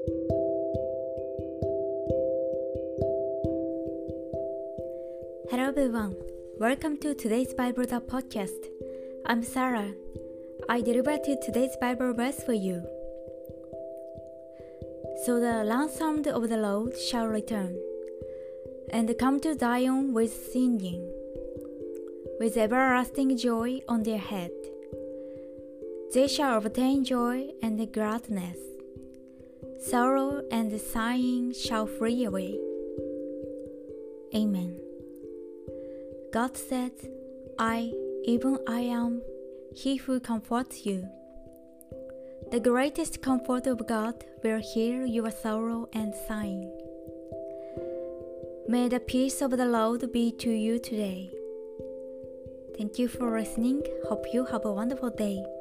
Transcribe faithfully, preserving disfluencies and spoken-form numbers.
Hello everyone, welcome to today's Bible the podcast. I'm Sarah. I delivered today's Bible verse for you. So the ransomed of the Lord shall return, and come to Zion with singing, with everlasting joy on their head. They shall obtain joy and gladness. Sorrow and sighing shall flee away. Amen. God said, I, even I am He who comforts you. The greatest comfort of God will heal your sorrow and sighing. May the peace of the Lord be to you today. Thank you for listening. Hope you have a wonderful day.